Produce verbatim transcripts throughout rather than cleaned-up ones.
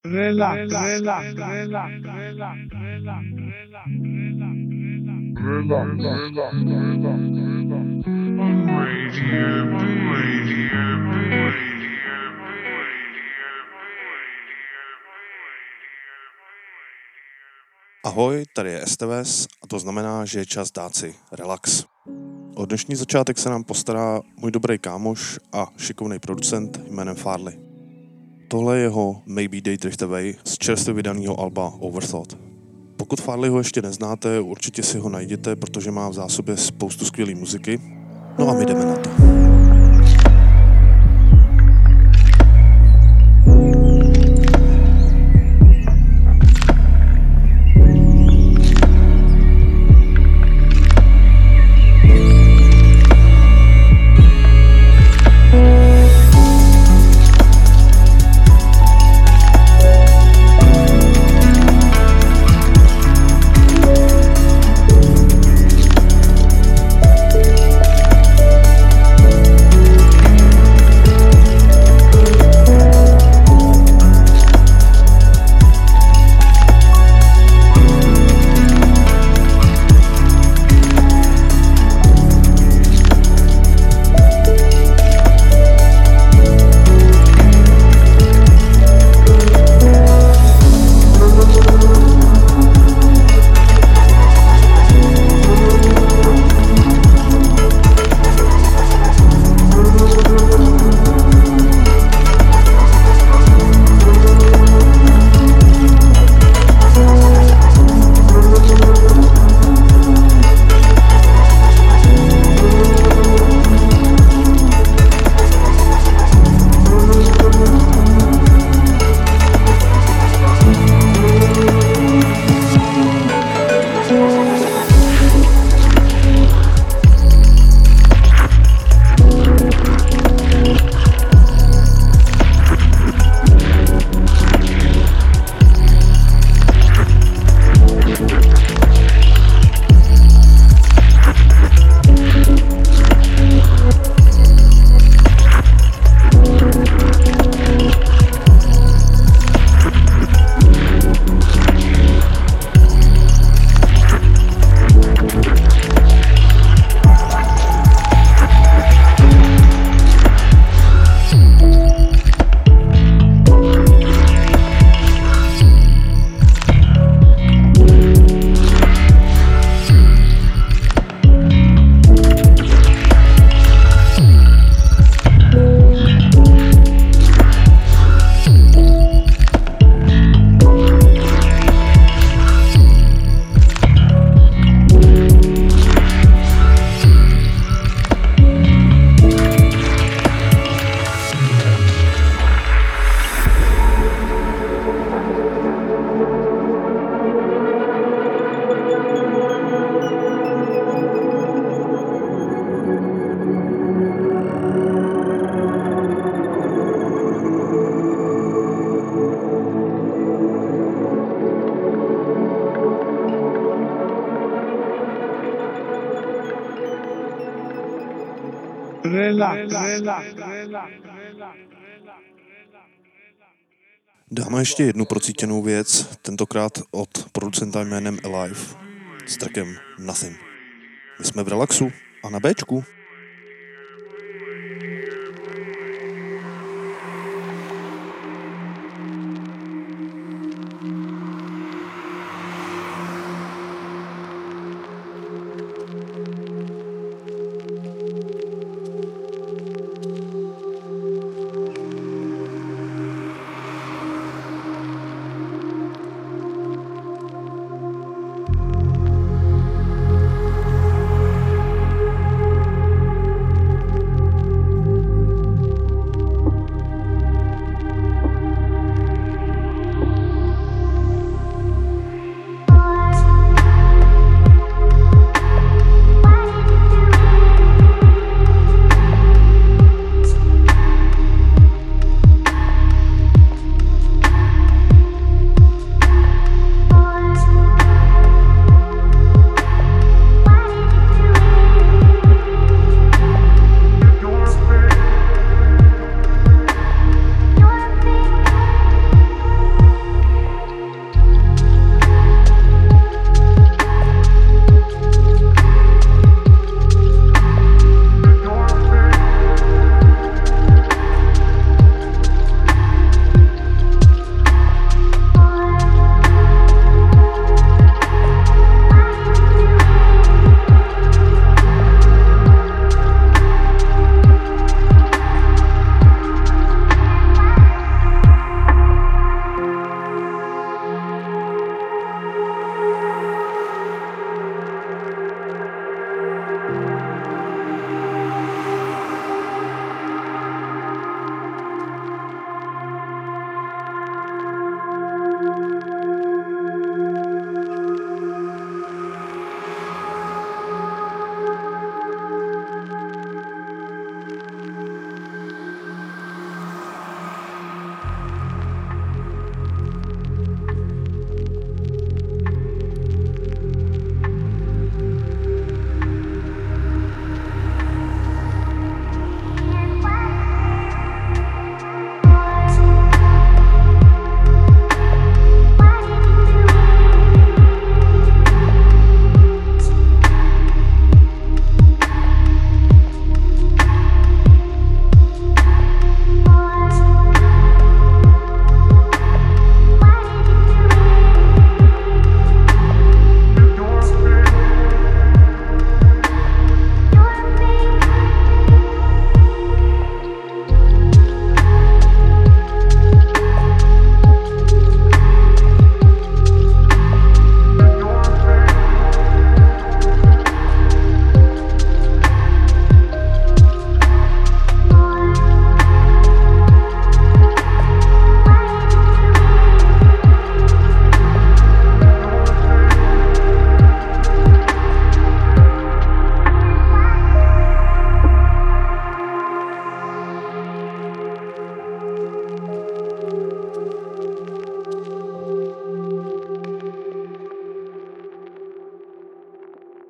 Relax, relax, relax, relax, relax, relax, Radio B. Radio B. Ahoj, tady je S T V S a to znamená, že je čas dát si relax. O dnešní začátek se nám postará můj dobrý kámoš a šikovný producent jménem Farley. Tohle je jeho Maybe They Drift Away z čerstvě vydaného alba Overthought. Pokud Farleyho ještě neznáte, určitě si ho najděte, protože má v zásobě spoustu skvělé muziky. No a my jdeme na to. Dáme ještě jednu procítěnou věc, tentokrát od producenta jménem Alive s trackem Nothing. My jsme v relaxu a na Bčku.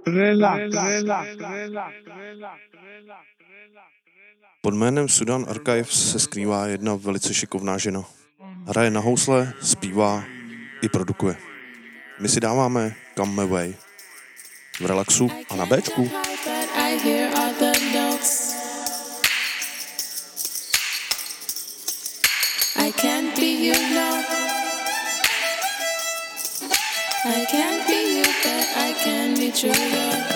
relax, relax, relax, relax. Pod jménem Sudan Archives se skrývá jedna velice šikovná žena. Hraje na housle, zpívá i produkuje. My si dáváme Come My Way v relaxu a na Bčku. I can't be you, no. I can't be you, but I can be true, yeah.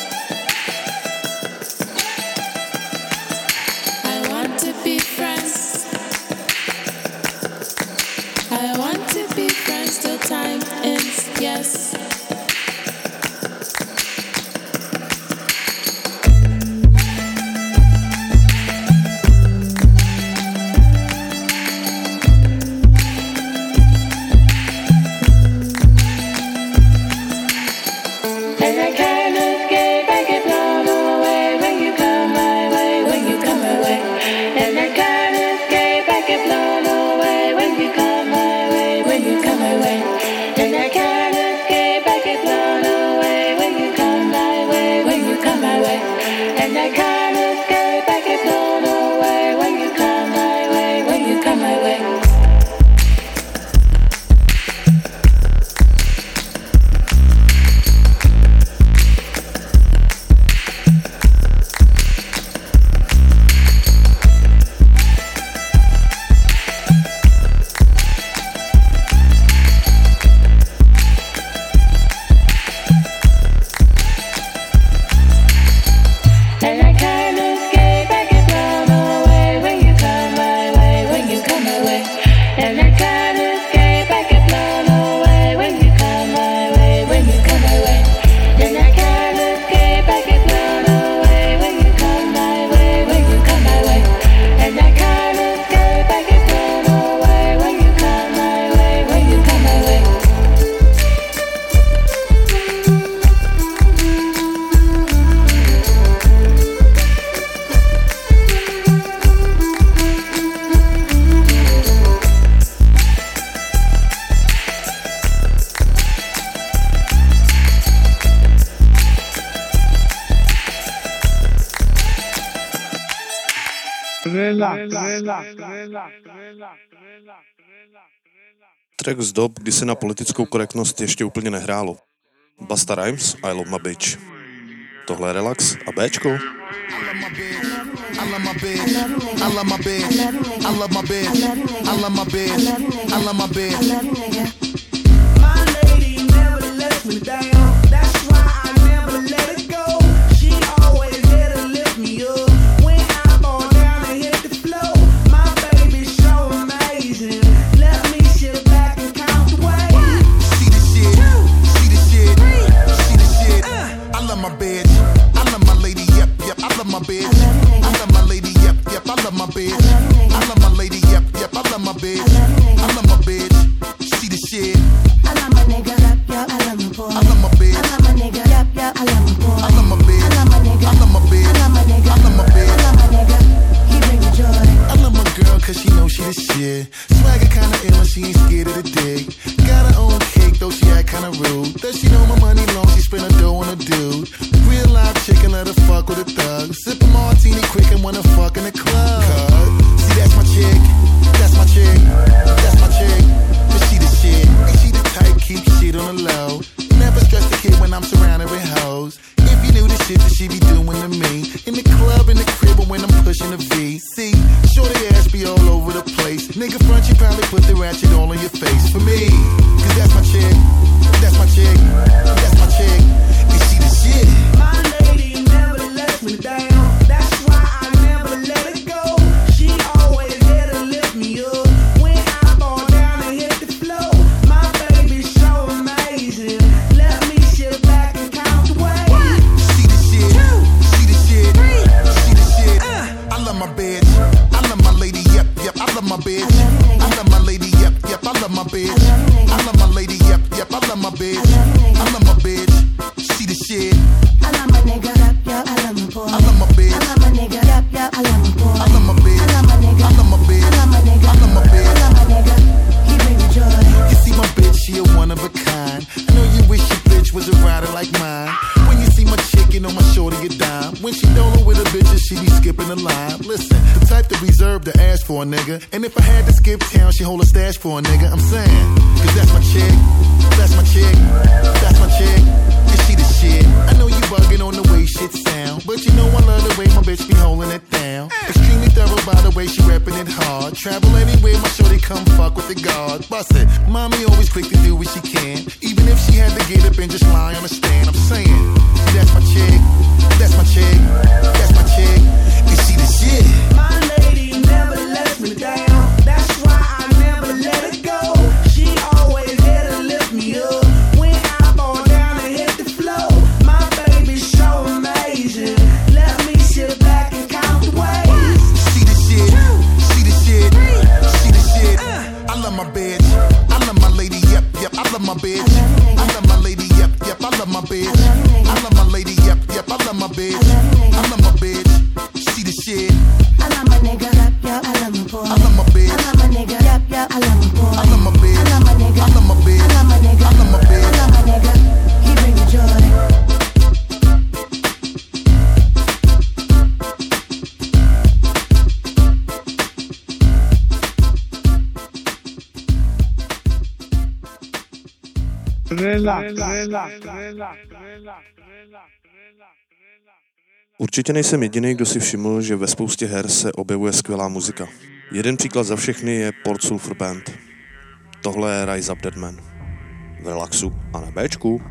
I want to be friends. I want to be friends till time ends, yes. Track z dob, kdy se na politickou korektnost ještě úplně nehrálo. Busta Rhymes, I Love My Bitch. Tohle je relax a Bčko. I love my bitch. I love my bitch. I love my bitch. I love my bitch. I love my bitch. My lady never lets me down. That's why I never let it go. She always there to lift me up. When I fall down and hit the floor, my baby's so amazing. Let me sit back and count the way. See the shit. See the shit. See the shit. I love my bitch. I love my lady. Yep, yep. I love my bitch. I love my lady. Yep, yep. I love my bitch. I love my lady. Yep, yep. I love my bitch. I love my bitch. See the shit. I love my nigga, yep, yep, I love my boy. I love my bitch. I love my nigga, yep, yep, I love my boy. I love my bitch. I love my nigga, I love my bitch. I love my nigga, I love my bitch. I love my nigga, he bring me joy. I love my girl cause she knows she the shit. Swagger kinda ill and she ain't scared of the dick. Got her own cake though she act kinda rude. Does she know my money long, she spend her dough on a dude. Real life chicken, let her fuck with a thug. Sip a martini quick and wanna fuck in the club. Cause, see that's my chick, that's my chick, that's my chick. But she the shit, and she the type keep shit on the low. Never stress the kid when I'm surrounded with hoes. If you knew the shit that she be doing to me. In the club, in the crib, or when I'm pushing the V. See, shorty ass be all over the place. Nigga front, she probably put the ratchet all on your face. For me, cause that's my chick, that's my chick, that's my chick. And she the shit. My lady never lets me down. That's why I never let it go. She always there to lift me up. When I fall down and hit the floor, my baby's so amazing. Let me sit back and count the way. See the shit, see the shit, see the shit. I love my bitch, I love my lady, yep, yep. I love my bitch, I love my lady, yep, yep. I love my bitch, I love my lady, yep, yep. I love my bitch, I love my bitch. See the shit. I love my nigga, yep, yep, I love my boy. I love my bitch. I love my nigga, yep, yep, I love my boy. I love my bitch. I love my nigga, I love my bitch. I love my nigga, I love my bitch. I love my nigga, he bring me joy. You see my bitch, she a one of a kind. I know you wish your bitch was a rider like mine. When you see for a nigga. And if I had to skip town, she hold a stash for a nigga. I'm saying, cause that's my chick, that's my chick, that's my chick. And she the shit. I know you bugging on the way shit sound, but you know I love the way my bitch be holding it down. Extremely thorough by the way she reppin' it hard. Travel anywhere, my shorty come fuck with the guard. Bust it, mommy always quick to do what she can, even if she had to get up and just lie on the stand. I'm saying, see that's my chick, that's my chick, that's my chick, and she the shit. My lady never lets me down. That's why I never let her go. She always there to lift me up when I fall down and hit the floor. My baby's so amazing. Let me sit back and count the ways. She the shit, she the shit, she the shit. I love my bitch, I love my lady, yep, yep. I love my bitch, I love my lady, yep, yep. I love my bitch, I love my lady, yep, yep. I love my bitch, I love my bitch. She the shit. I love my nigga, yep, yep. I love my boy. I love my bitch. I love my nigga, yep, yep. I love my boy. I love my bitch. I love my nigga. I love my bitch. I love my nigga. I love my bitch. I love my nigga. He bring me joy. Relax, relax, relax, relax. Určitě nejsem jediný, kdo si všiml, že ve spoustě her se objevuje skvělá muzika. Jeden příklad za všechny je Port Sulphur Band. Tohle je Rise Up Dead Man. V relaxu a na Bčku.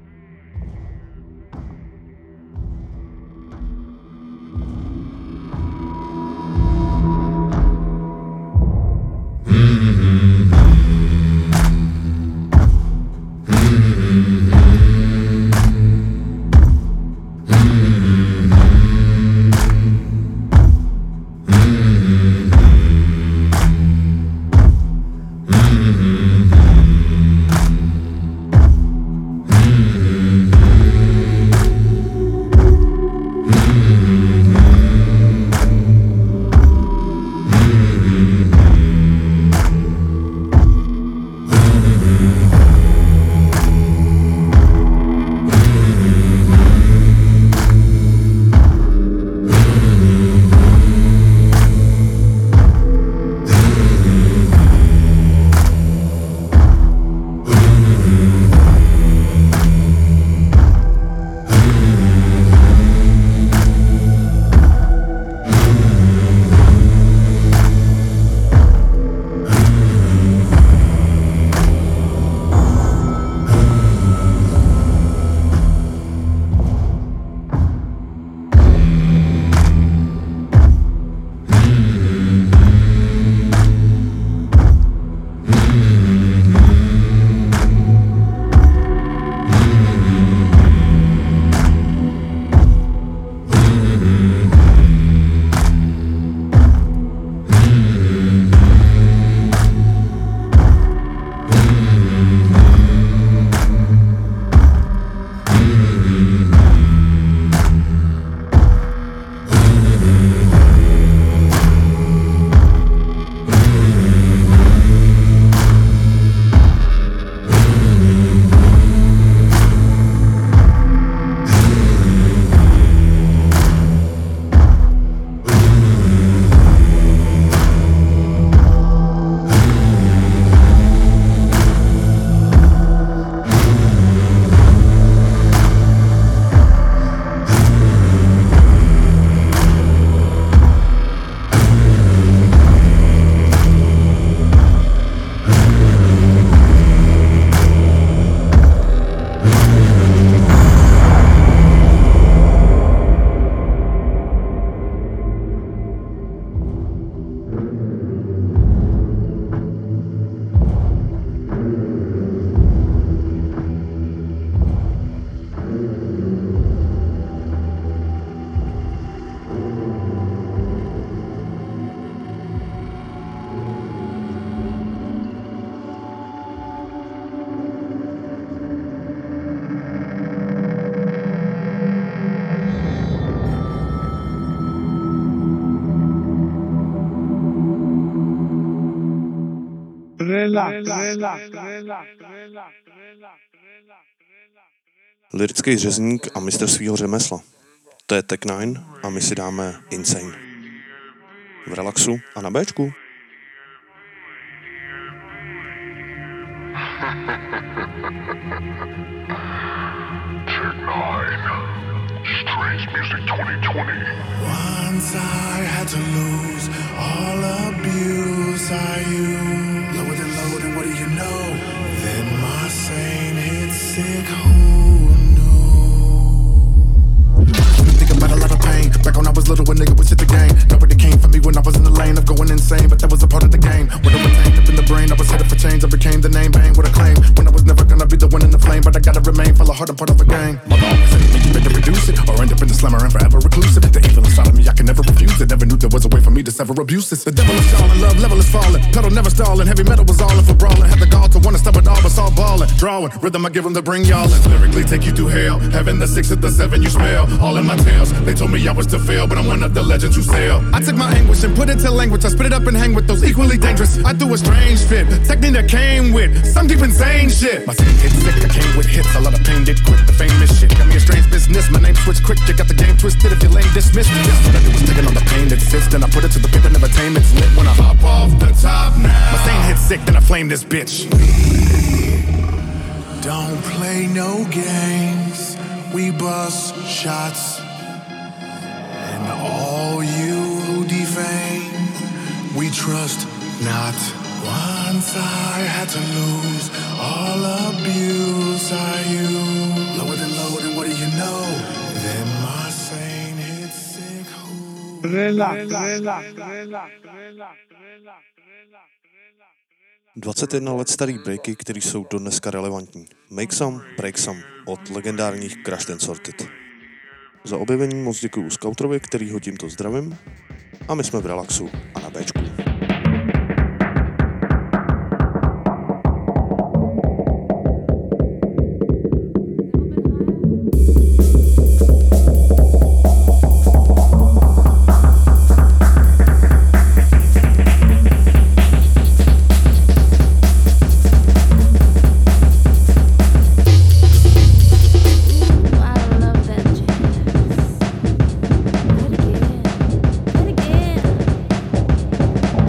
Lyrický řezník a mistr svýho řemesla. To je Tech Nine a my si dáme Insane. v relaxu a na Béčku. Strange Music twenty twenty. Once I had to lose all abuse. I you lower than low, then what do you know? Then my sane hit sick. Who knew? Thinking about a lot of pain. Back when I was little, a nigga was hit the game. Nobody came for me when I was in the lane of going insane, but that was a part of the game. When I was tanked up in the brain, I was headed for change. I became the name, bang with a claim. When I was never gonna be the one in the flame, but I gotta remain full of heart and part of a gang. Mother always said to me, you better reduce it, or end up in the slammer and forever reclusive. The evil inside of me, I can never refuse it. Never knew there was a way for me to sever abuses. The devil is calling, love level is falling. Pedal never stalling, heavy metal was all in for brawling. Had the gall to wanna stop it all, but saw balling. Drawing, rhythm I give them to bring y'all in. Lyrically take you through hell. Heaven, the six of the seven you smell. All in my tales. They told me I was to fail, but I'm one of the legends who sail. I took my anguish and put it to language. I spit it up and hang with those equally dangerous. I threw a strange fit, technique that came with some deep insane shit. My skin hit sick, I came with hits. A lot of pain did quick, the famous shit. Got me a strange business, my name switched quick. You got the game twisted if you lame dismissed. Yes, what I do was taking on the pain that sits. Then I put it to the paper, never tame it's lit. When I hop off the top now, my sane hit sick, then I flame this bitch. We don't play no games. We bust shots. And all you who defame, we trust not. Once I had to lose all abuse. I you lower than low, then what do you know? Then my sane hit sick. Who Relax, relax, relax, relax. dvacet jedna let starý breaky, které jsou dodneska relevantní. Make Some, Break Some od legendárních Crushed and Sorted. Za objevení moc děkuju Scoutrovi, kterýho tímto zdravím, a my jsme v relaxu a na Béčku. Again.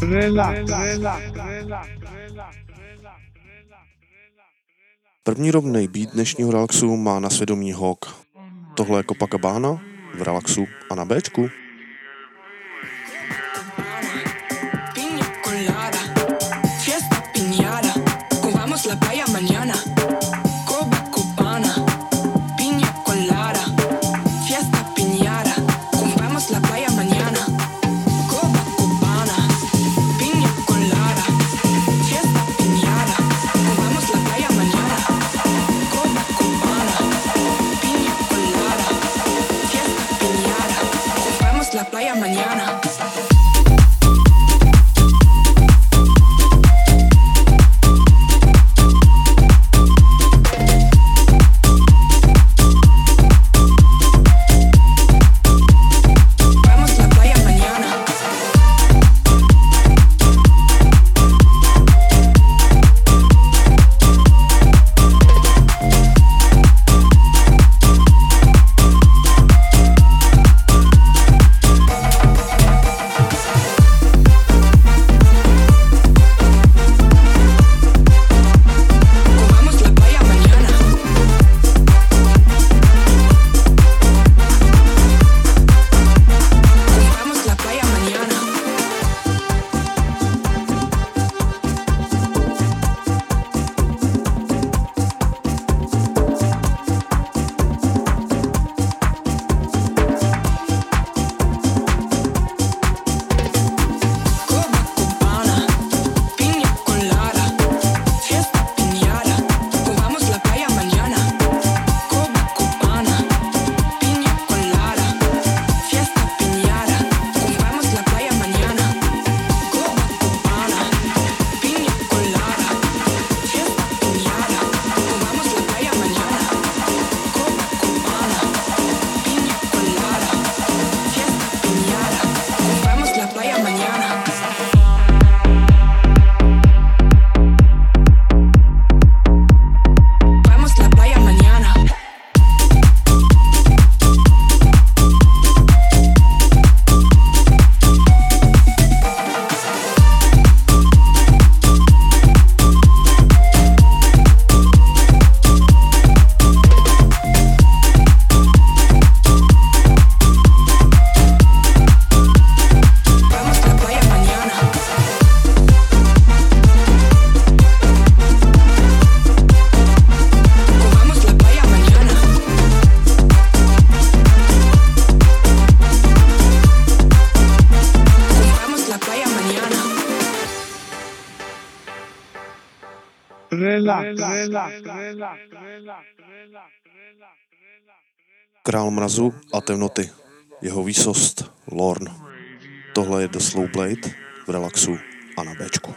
relax, relax, relax. První rovnej beat dnešního relaxu má na svědomí Hawk. Tohle je Copacabana v relaxu a na Bčku. Piña colada, fiesta piñada, comamos la playa mañana. Copacabana, piña colada, fiesta piñada, comamos la playa mañana. Copacabana, piña colada, fiesta piñada, comamos la playa mañana. Copacabana, piña colada, fiesta piñada, comamos la playa mañana. Král mrazu a temnoty, jeho výsost Lorn. Tohle je The Slow Blade v relaxu a na Bčku.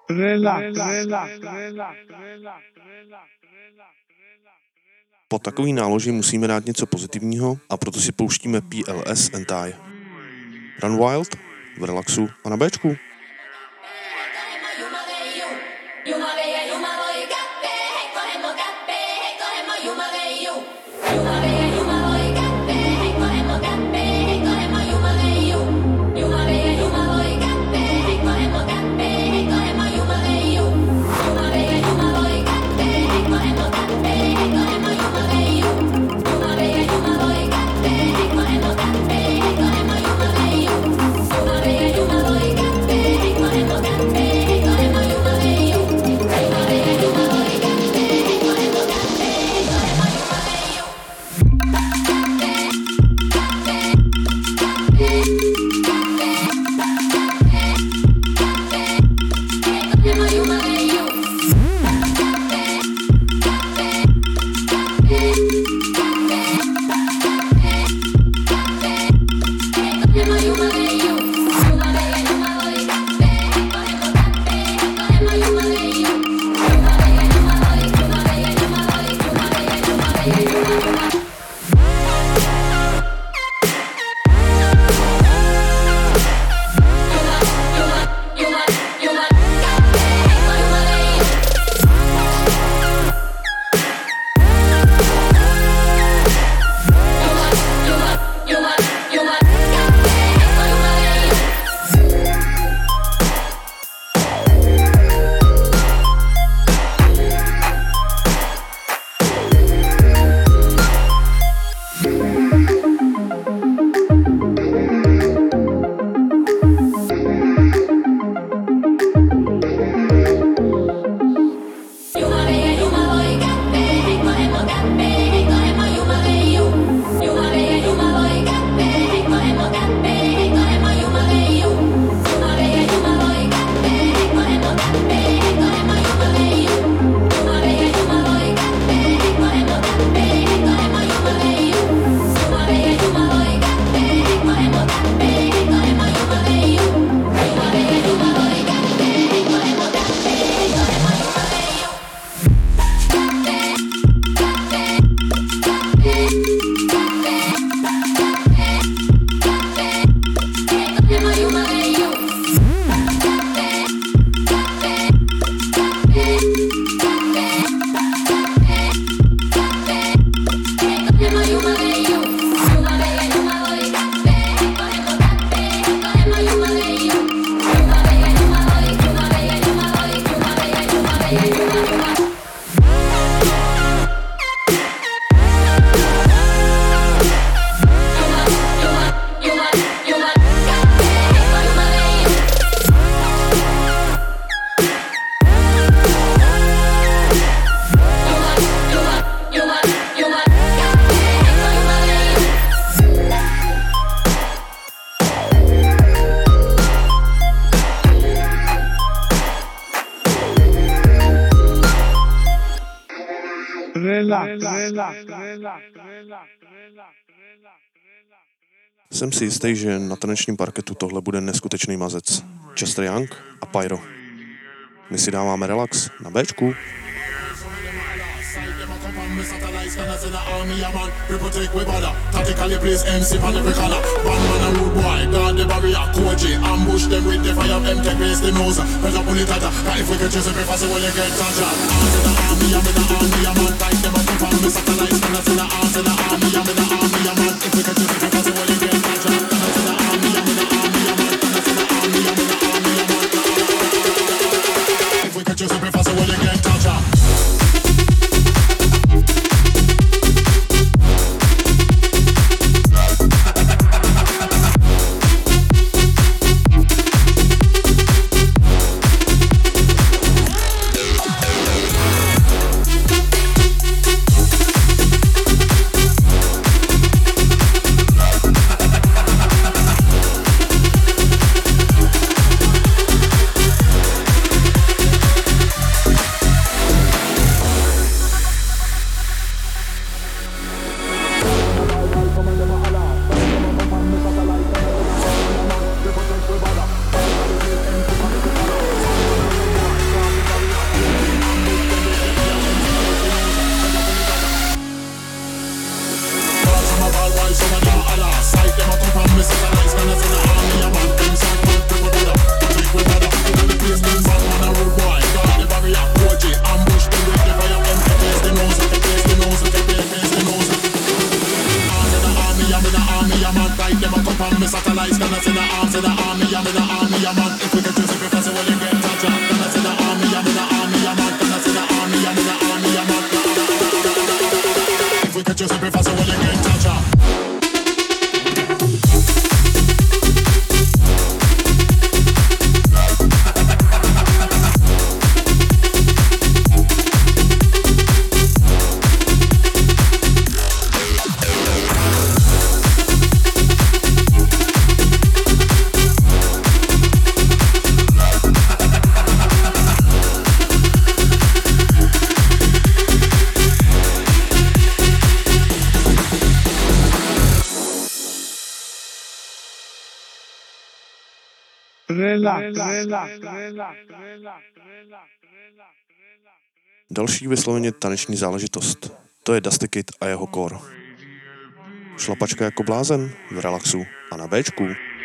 relax, relax, relax, relax. Po takový náloži musíme dát něco pozitivního a proto si pouštíme P L S and I. Run Wild v relaxu a na Bčku. Jsem si jistý, že na tanečním parketu tohle bude neskutečný mazec. Chester Young a Pyro. My si dáváme relax na Bčku. Me satellites can in the army, a man. We protect we border. Tactically place M C on every corner. One man a rude boy, guard the barrier. Koji, ambush them with the fire. M take place the nose. Press up on the tata. If we can chase every fast, well you get touched. Arms in the army, I'm in the army, a man. Tight them up on me satellites can in the arms in the army, I'm in the army, a man. If we can chase every fast, well you get touched. In the army, I'm in the army, a man. In the army, I'm in the army, a man. If we can chase every fast, well you get touched. I'm in the army, I'm on. If we get to see because when you get touched, then I say the army, I'm in the army, I'm on. Then I say the army, I'm in the army, I'm on. If we get to see because when you get touched. Další vysloveně taneční záležitost. To je Dusty Kid a jeho core. Šlapačka jako blázen v relaxu a na Bčku.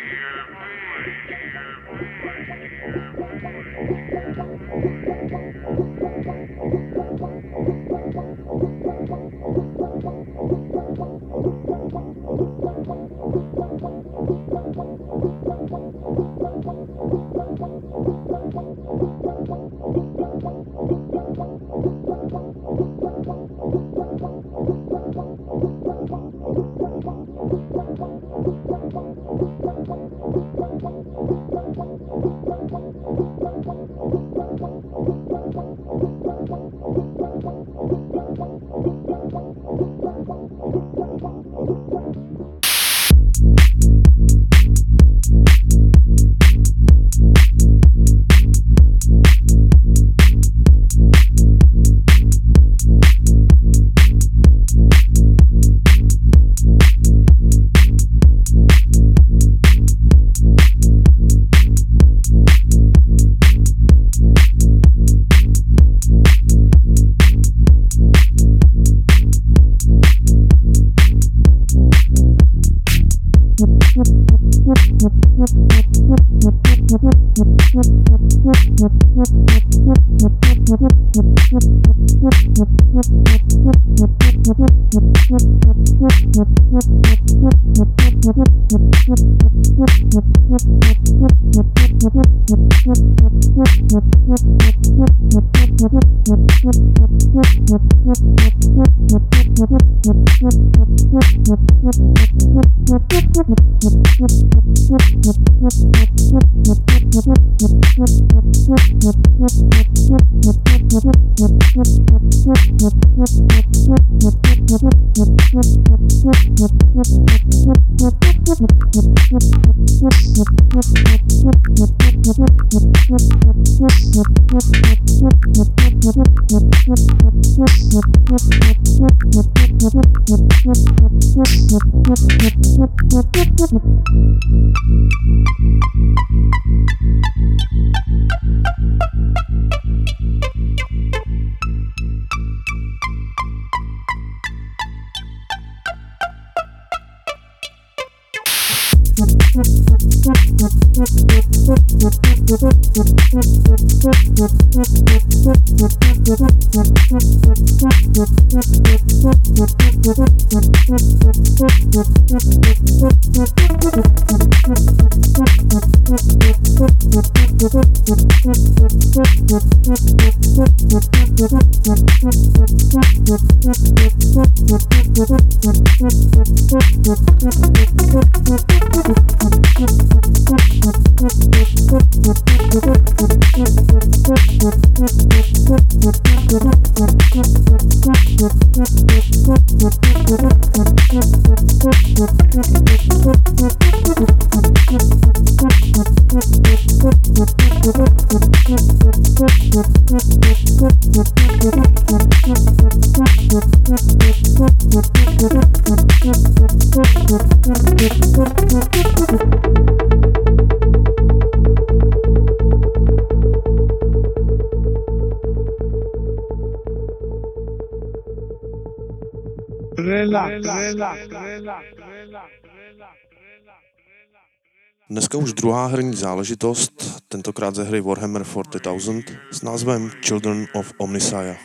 Dneska už druhá herní záležitost, tentokrát ze hry Warhammer čtyřicet tisíc s názvem Children of Omnissiah.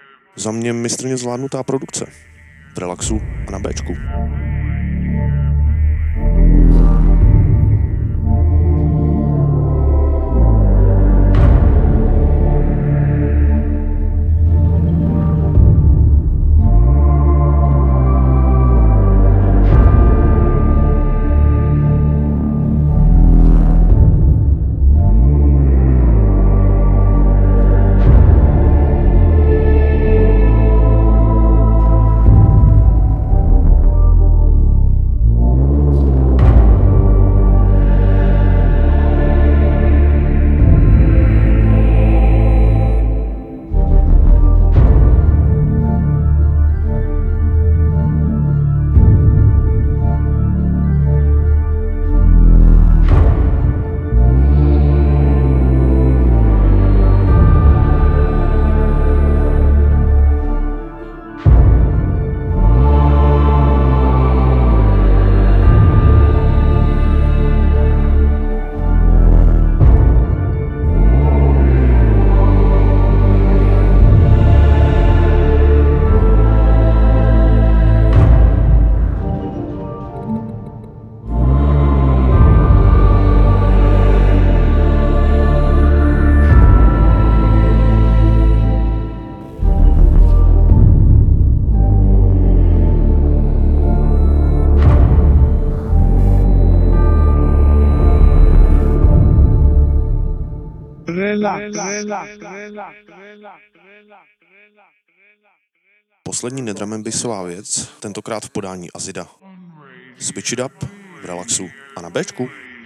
Za mě mistrně zvládnutá produkce. V relaxu a na Bčku. relax, relax, relax, relax. Poslední nedramembisová věc, tentokrát v podání Azida. Switch it up v relaxu a na Bčku.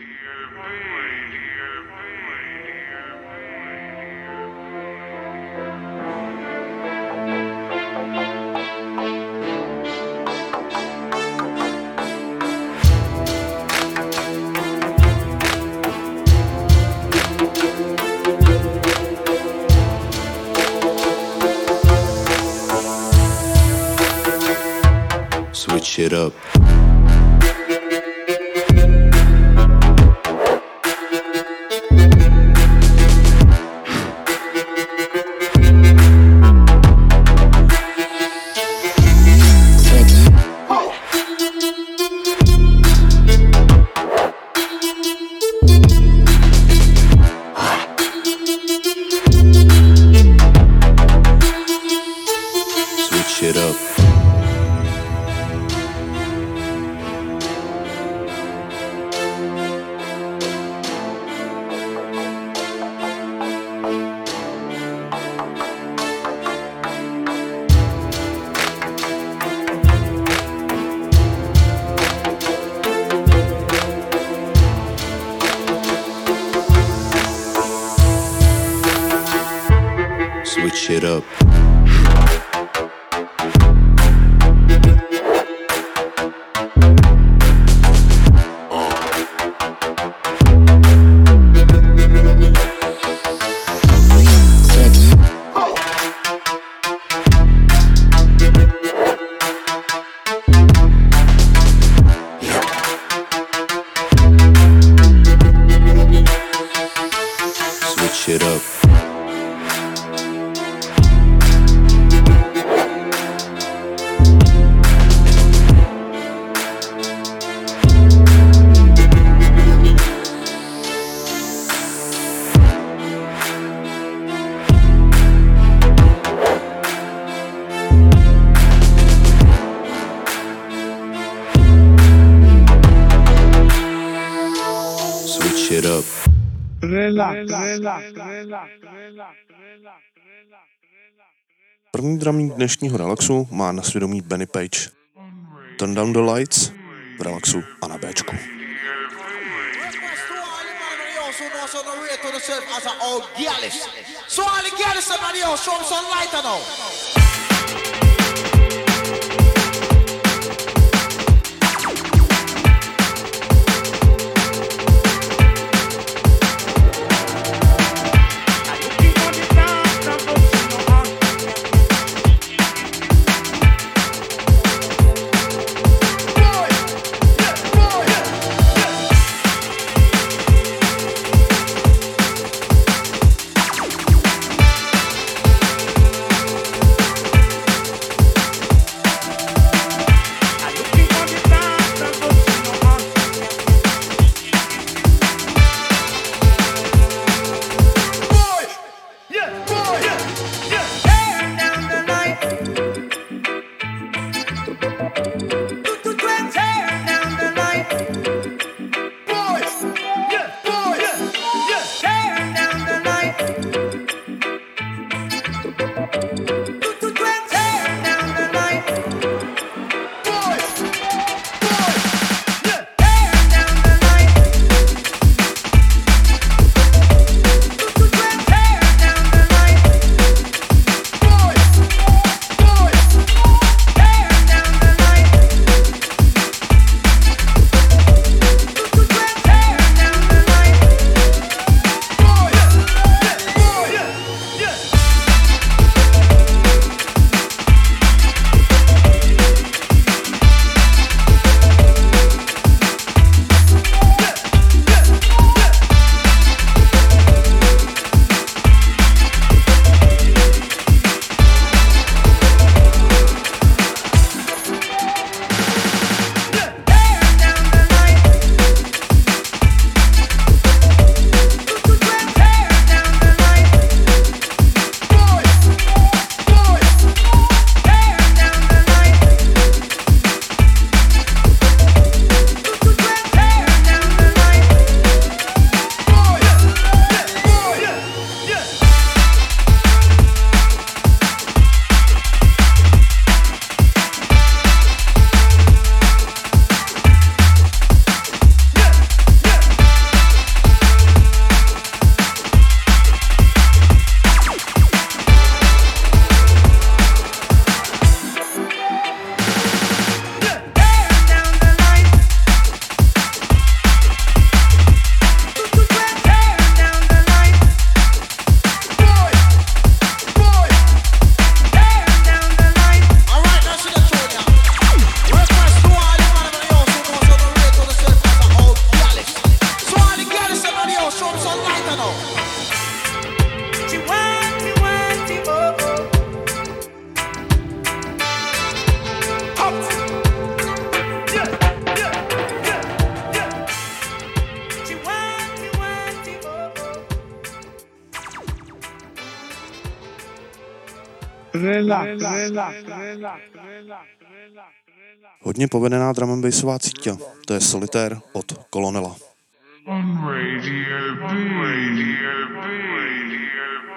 Switch it up. Switch it up. Switch it up. Switch it up. Switch it up. Relax, relax, relax, relax. První dramník dnešního relaxu má na svědomí Benny Page. Turn down the lights v relaxu a na Bčku. So all the girls somebody else show me some lighter now. lighter now. Chiwanti, wanti, oh, oh. Hop. Yeah, yeah, yeah, yeah. Chiwanti, wanti, oh, oh. Relax, relax, relax, relax. Hodně povedená drum and bassová cítě, to je Solitér od Kolonela. On Radio B, Radio B, Radio B.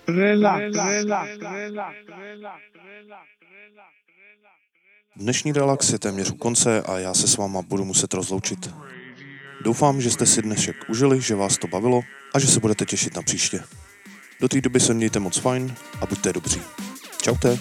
relax, relax, relax, relax. Dnešní relax je téměř u konce a já se s váma budu muset rozloučit. Doufám, že jste si dnešek užili, že vás to bavilo a že se budete těšit na příště. Do té doby se mějte moc fajn a buďte dobří. Čaute.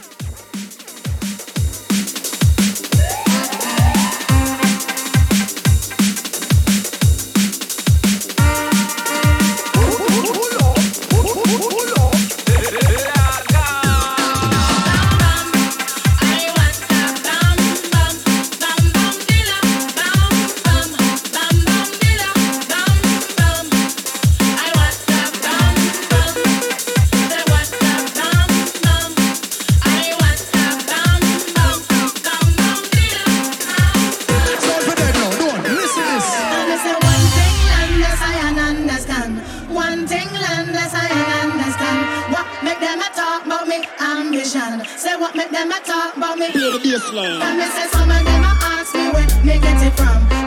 Say what make them a talk about me. Play the bass line. And me say some of them a ask me where me get it from.